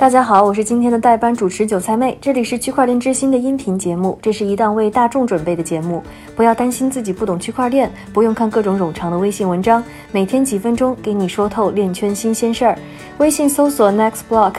大家好，我是今天的代班主持韭菜妹，这里是区块链之星的音频节目，这是一档为大众准备的节目，不要担心自己不懂区块链，不用看各种冗长的微信文章，每天几分钟给你说透链圈新鲜事儿。微信搜索 Nextblock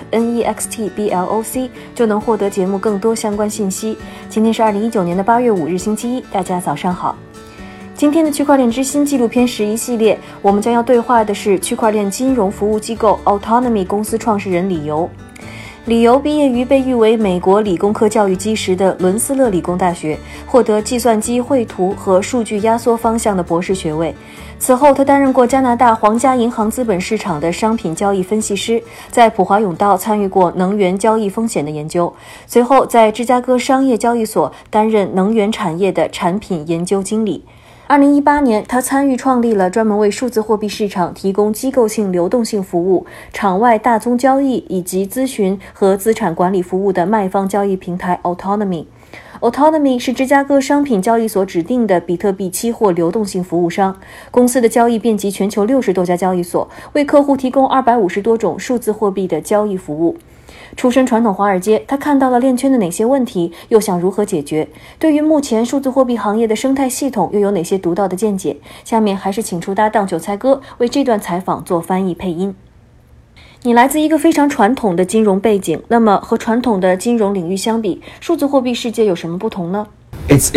NEXTBLOC 就能获得节目更多相关信息。今天是2019年8月5日星期一，大家早上好。今天的区块链之星纪录片11系列，我们将要对话的是区块链金融服务机构 Autonomy 公司创始人李由。李由毕业于被誉为美国理工科教育基石的伦斯勒理工大学，获得计算机绘图和数据压缩方向的博士学位。此后，他担任过加拿大皇家银行资本市场的商品交易分析师，在普华永道参与过能源交易风险的研究，随后在芝加哥商业交易所担任能源产业的产品研究经理。2018年，他参与创立了专门为数字货币市场提供机构性流动性服务、场外大宗交易以及咨询和资产管理服务的卖方交易平台 Autonomy。Autonomy 是芝加哥商品交易所指定的比特币期货流动性服务商，公司的交易遍及全球60多家交易所，为客户提供250多种数字货币的交易服务。出身传统华尔街，他看到了链圈的哪些问题，又想如何解决？对于目前数字货币行业的生态系统，又有哪些独到的见解？下面还是请出搭档韭菜哥为这段采访做翻译配音。你来自一个非常传统的金融背景，那么和传统的金融领域相比，数字货币世界有什么不同呢？ It's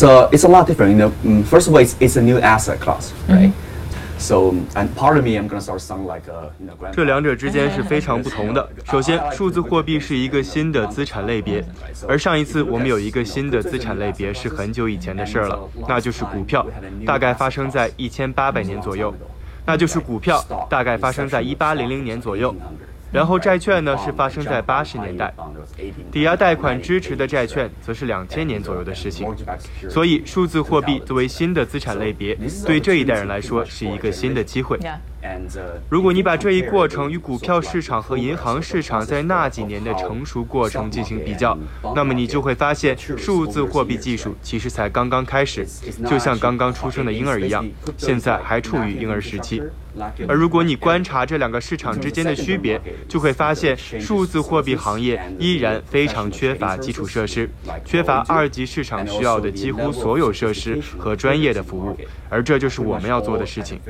a lot different. First of all, it's a new asset class, right?So, and part of me, I'm going to start sound like a, 这两者之间是非常不同的。首先，数字货币是一个新的资产类别，而上一次我们有一个新的资产类别是很久以前的事了，那就是股票，大概发生在1800年左右。那就是股票，大概发生在1800年左右。然后债券呢是发生在80年代，抵押贷款支持的债券则是2000年左右的事情。所以数字货币作为新的资产类别，对这一代人来说是一个新的机会。如果你把这一过程与股票市场和银行市场在那几年的成熟过程进行比较，那么你就会发现数字货币技术其实才刚刚开始，就像刚刚出生的婴儿一样，现在还处于婴儿时期。而如果你观察这两个市场之间的区别，就会发现数字货币行业依然非常缺乏基础设施，缺乏二级市场需要的几乎所有设施和专业的服务，而这就是我们要做的事情。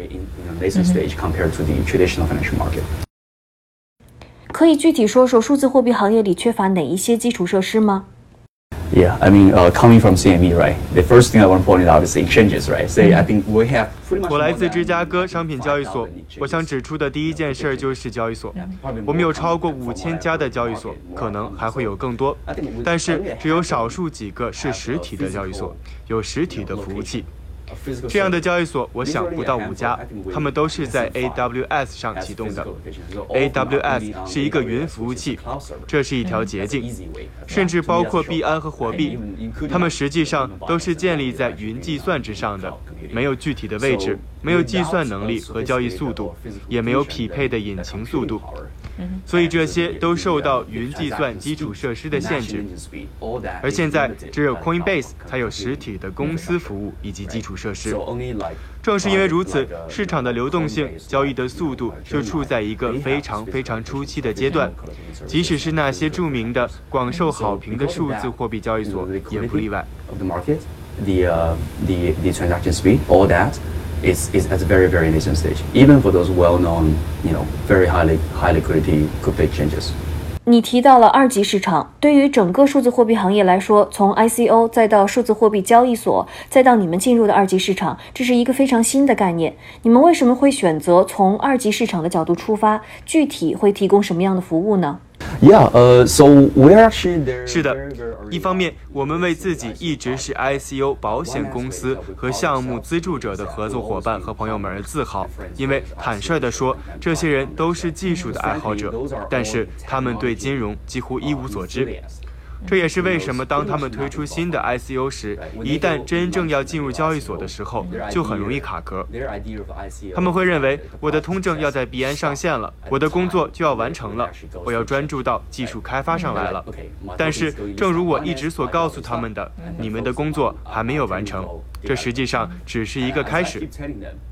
可以具体说说数字货币行业里缺乏哪一些基础设施吗 ？Yeah, I mean, coming from CME, right? The first thing I want to point out is the exchanges, right? Say, I think we have pretty much. 我来自芝加哥商品交易所，我想指出的第一件事就是交易所。我们有超过5000家的交易所，可能还会有更多，但是只有少数几个是实体的交易所，有实体的服务器。这样的交易所我想不到5家，他们都是在 AWS 上启动的。AWS 是一个云服务器，这是一条捷径，甚至包括币安和火币，它们实际上都是建立在云计算之上的，没有具体的位置，没有计算能力和交易速度，也没有匹配的引擎速度。所以这些都受到云计算基础设施的限制，而现在只有 Coinbase 才有实体的公司服务以及基础设施。正是因为如此，市场的流动性、交易的速度就处在一个非常非常初期的阶段，即使是那些著名的、广受好评的数字货币交易所也不例外。 The transaction speed, all that is at a very, very nascent stage, even for those well-known, very high liquidity crypto exchanges. 你提到了二级市场，对于整个数字货币行业来说，从 ICO 再到数字货币交易所，再到你们进入的二级市场，这是一个非常新的概念。你们为什么会选择从二级市场的角度出发？具体会提供什么样的服务呢 ？Yeah, so we're actually there. 是的，一方面，我们为自己一直是 ICO 保险公司和项目资助者的合作伙伴和朋友们而自豪，因为坦率地说，这些人都是技术的爱好者，但是他们对金融几乎一无所知。这也是为什么当他们推出新的 ICO 时，一旦真正要进入交易所的时候，就很容易卡壳。他们会认为我的通证要在币安上线了，我的工作就要完成了，我要专注到技术开发上来了。但是正如我一直所告诉他们的，你们的工作还没有完成，这实际上只是一个开始。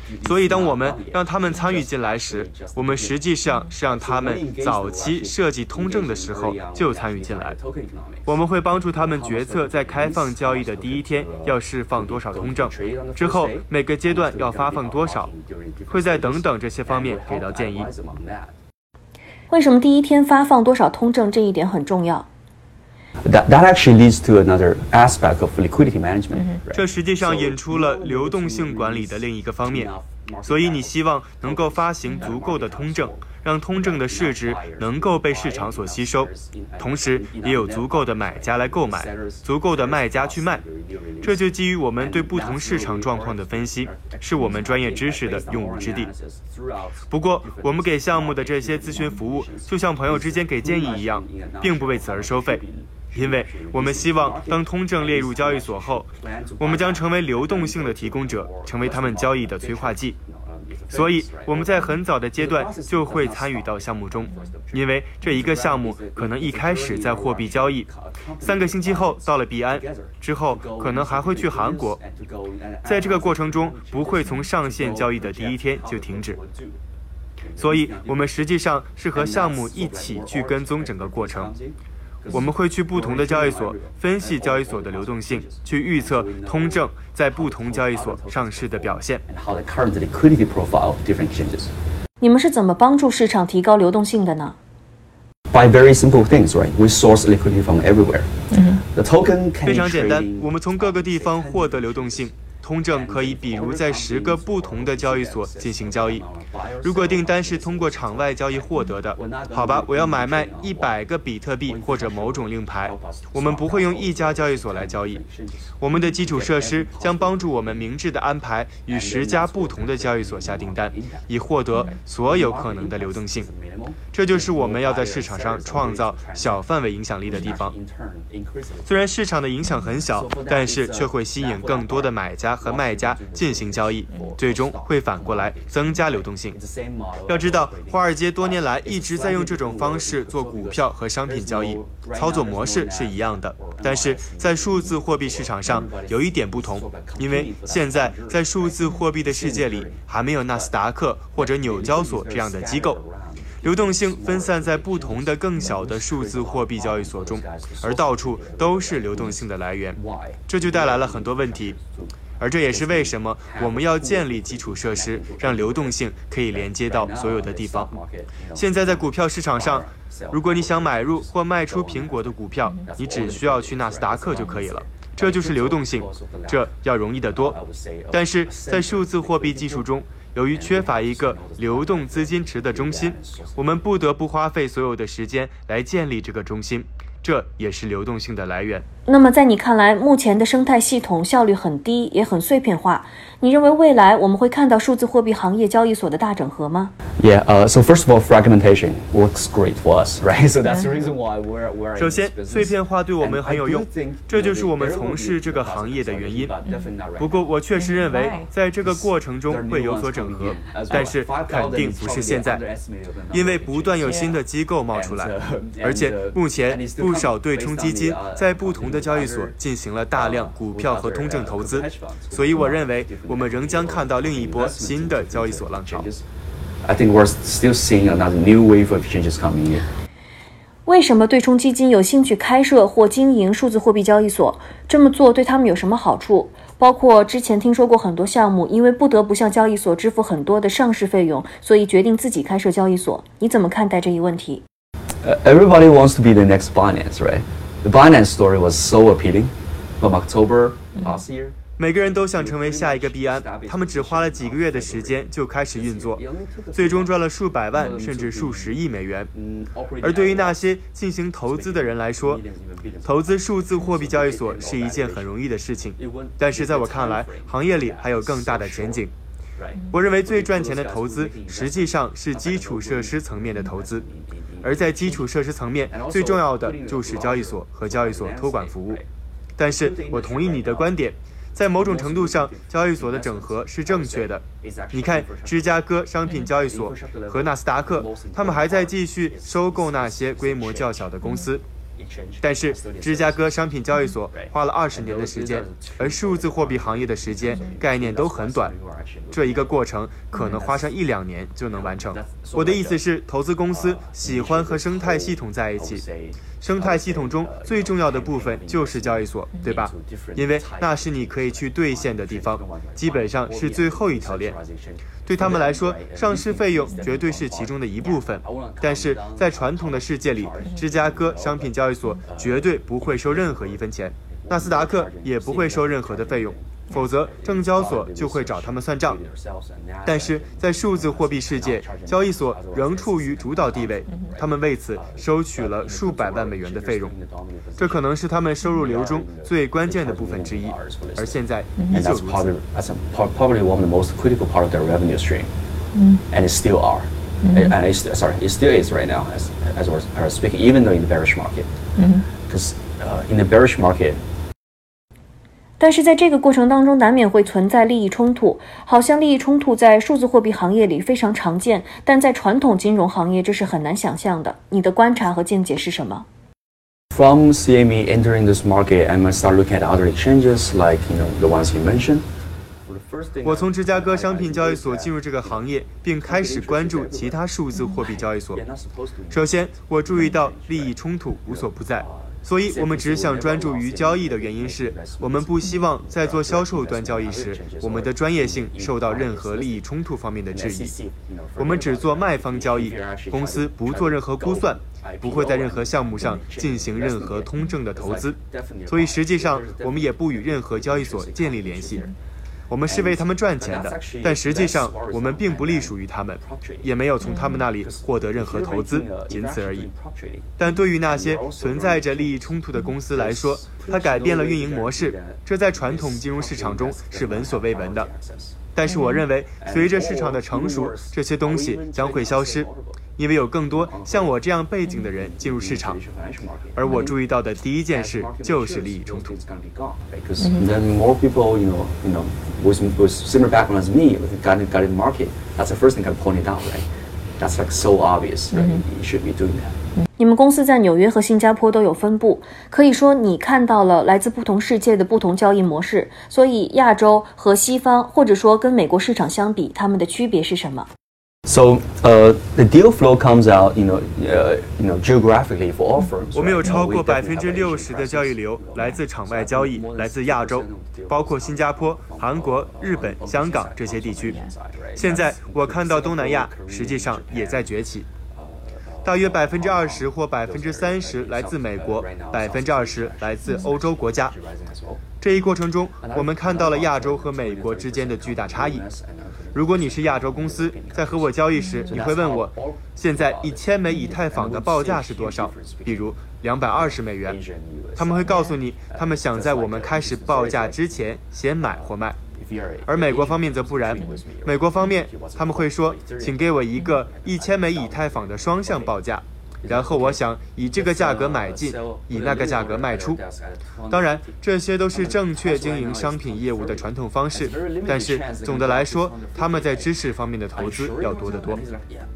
所以当我们让他们参与进来时，我们实际上是让他们早期设计通证的时候就参与进来。我们会帮助他们决策在开放交易的第一天要释放多少通证，之后每个阶段要发放多少，会在等等这些方面给到建议。 为什么第一天发放多少通证这一点很重要 ？That actually leads to another aspect of liquidity management. 这实际上引出了流动性管理的另一个方面。所以你希望能够发行足够的通证，让通证的市值能够被市场所吸收，同时也有足够的买家来购买，足够的卖家去卖。这就基于我们对不同市场状况的分析，是我们专业知识的用武之地。不过，我们给项目的这些咨询服务，就像朋友之间给建议一样，并不为此而收费。因为我们希望当通证列入交易所后，我们将成为流动性的提供者，成为他们交易的催化剂。所以我们在很早的阶段就会参与到项目中，因为这一个项目可能一开始在货币交易，3个星期后到了币安，之后可能还会去韩国，在这个过程中不会从上线交易的第一天就停止。所以我们实际上是和项目一起去跟踪整个过程。我们会去不同的交易所分析交易所的流动性，去预测通证在不同交易所上市的表现。 你们是怎么帮助市场提高流动性的呢？ By very simple things, right? We source liquidity from everywhere. The token can 非常简单，我们从各个地方获得流动性。通证可以比如在10个不同的交易所进行交易。如果订单是通过场外交易获得的，好吧，我要买卖100个比特币或者某种令牌，我们不会用一家交易所来交易。我们的基础设施将帮助我们明智地安排与10家不同的交易所下订单，以获得所有可能的流动性。这就是我们要在市场上创造小范围影响力的地方。虽然市场的影响很小，但是却会吸引更多的买家和卖家进行交易，最终会反过来增加流动性。要知道，华尔街多年来一直在用这种方式做股票和商品交易，操作模式是一样的，但是在数字货币市场上有一点不同，因为现在在数字货币的世界里还没有纳斯达克或者纽交所这样的机构。流动性分散在不同的更小的数字货币交易所中，而到处都是流动性的来源，这就带来了很多问题。而这也是为什么我们要建立基础设施，让流动性可以连接到所有的地方。现在在股票市场上，如果你想买入或卖出苹果的股票，你只需要去纳斯达克就可以了。这就是流动性，这要容易得多。但是在数字货币技术中，由于缺乏一个流动资金池的中心，我们不得不花费所有的时间来建立这个中心，这也是流动性的来源。 那么在你看来，目前的生态系统效率很低，也很碎片化。你认为未来我们会看到数字货币行业交易所的大整合吗？ Yeah, so first of all, fragmentation works great for us, right? So that's the reason why we're 首先，碎片化对我们很有用，这就是我们从事这个行业的原因。不过，我确实认为，在这个过程中会有所整合，但是肯定不是现在，因为不断有新的机构冒出来，而且目前不少对冲基金在不同的交易所进行了大量股票和通证投资，所以我认为我们仍将看到另一波新的交易所浪潮。 I think we're still seeing another new wave of exchanges coming in. 为什么对冲基金有兴趣开设或经营数字货币交易所？这么做对他们有什么好处？包括之前听说过很多项目因为不得不向交易所支付很多的上市费用，所以决定自己开设交易所。你怎么看待这一问题？ Everybody wants to be the next Binance, right? The Binance story was so appealing from October last year. 每个人都想成为下一个币安，他们只花了几个月的时间就开始运作，最终赚了数百万甚至数十亿美元。而对于那些进行投资的人来说，投资数字货币交易所是一件很容易的事情，但是在我看来，行业里还有更大的前景。我认为最赚钱的投资实际上是基础设施层面的投资，而在基础设施层面最重要的就是交易所和交易所托管服务。但是我同意你的观点，在某种程度上，交易所的整合是正确的。你看，芝加哥商品交易所和纳斯达克，他们还在继续收购那些规模较小的公司。 但是芝加哥商品交易所花了20年的时间，而数字货币行业的时间概念都很短，这一个过程可能花上1-2年就能完成。我的意思是，投资公司喜欢和生态系统在一起，生态系统中最重要的部分就是交易所，对吧？因为那是你可以去兑现的地方，基本上是最后一条链。对他们来说，上市费用绝对是其中的一部分，但是在传统的世界里，芝加哥商品交易所绝对不会收任何一分钱，纳斯达克也不会收任何的费用，否则证交所就会找他们算账。但是在数字货币世界，交易所仍处于主导地位，他们为此收取了数百万美元的费用，这可能是他们收入流中最关键的部分之一，而现在依旧如此。 Probably one of the most critical part of their revenue stream, and it still are, and it still is right now as we're speaking, even though in the bearish market, because in the bearish market. 但是在这个过程当中，难免会存在利益冲突，好像利益冲突在数字货币行业里非常常见，但在传统金融行业这是很难想象的。你的观察和见解是什么？ From CME entering this market, I'm going to start looking at other exchanges like the ones you mentioned. 我从芝加哥商品交易所进入这个行业，并开始关注其他数字货币交易所。首先，我注意到利益冲突无所不在。所以我们只想专注于交易的原因是，我们不希望在做销售端交易时，我们的专业性受到任何利益冲突方面的质疑。我们只做卖方交易，公司不做任何估算，不会在任何项目上进行任何通证的投资，所以实际上我们也不与任何交易所建立联系。我们是为他们赚钱的，但实际上我们并不隶属于他们，也没有从他们那里获得任何投资，仅此而已。但对于那些存在着利益冲突的公司来说，它改变了运营模式，这在传统金融市场中是闻所未闻的。但是我认为，随着市场的成熟，这些东西将会消失，因为有更多像我这样背景的人进入市场。而我注意到的第一件事就是利益冲突。 Then more people, with similar background as me, got in the market. That's the first thing I pointed out, right? That's like so obvious, right? You should be doing that. 你们公司在纽约和新加坡都有分部，可以说你看到了来自不同世界的不同交易模式，所以亚洲和西方，或者说跟美国市场相比，它们的区别是什么？ So the deal flow comes out, geographically for all firms. 我们有超过60%的交易流来自场外交易，来自亚洲，包括新加坡、韩国、日本、香港这些地区。现在我看到东南亚实际上也在崛起。大约20%或30%来自美国，20%来自欧洲国家。这一过程中，我们看到了亚洲和美国之间的巨大差异。如果你是亚洲公司，在和我交易时，你会问我，现在1000枚以太坊的报价是多少？比如220美元。他们会告诉你，他们想在我们开始报价之前先买或卖。而美国方面则不然，美国方面他们会说，请给我一个1000枚以太坊的双向报价，然后我想以这个价格买进，以那个价格卖出。当然，这些都是正确经营商品业务的传统方式，但是总的来说，他们在知识方面的投资要多得多。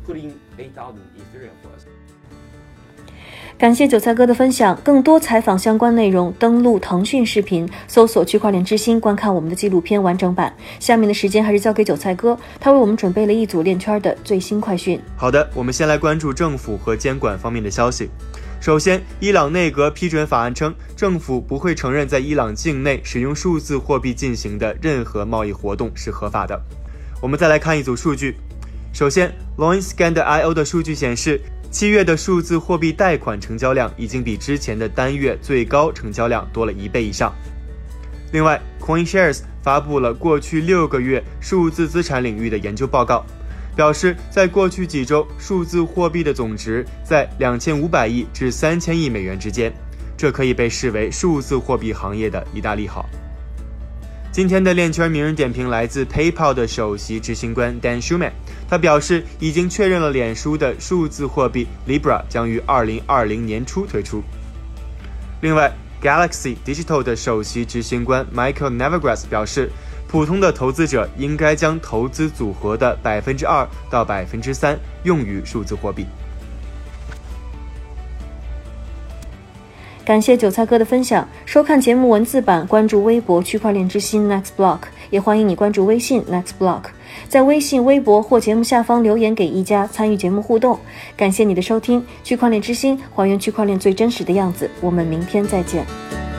感谢韭菜哥的分享，更多采访相关内容，登录腾讯视频，搜索区块链之星，观看我们的纪录片完整版。下面的时间还是交给韭菜哥，他为我们准备了一组链圈的最新快讯。 好的，我们先来关注政府和监管方面的消息。首先，伊朗内阁批准法案称，政府不会承认在伊朗境内使用数字货币进行的任何贸易活动是合法的。我们再来看一组数据。首先 Loinscan.io 的数据显示，7月的数字货币贷款成交量已经比之前的单月最高成交量多了1倍以上。另外 CoinShares 发布了过去6个月数字资产领域的研究报告，表示在过去几周，数字货币的总值在2500亿至3000亿美元之间，这可以被视为数字货币行业的一大利好。今天的链圈名人点评来自 PayPal 的首席执行官 Dan Schulman， 他表示已经确认了脸书的数字货币 Libra 将于2020年初推出。另外 Galaxy Digital 的首席执行官 Michael Novogratz 表示，普通的投资者应该将投资组合的2%到3%用于数字货币。 感谢韭菜哥的分享。收看节目文字版，关注微博区块链之星 Next Block， 也欢迎你关注微信 Next Block， 在微信、微博或节目下方留言给一加，参与节目互动。感谢你的收听，区块链之星还原区块链最真实的样子，我们明天再见。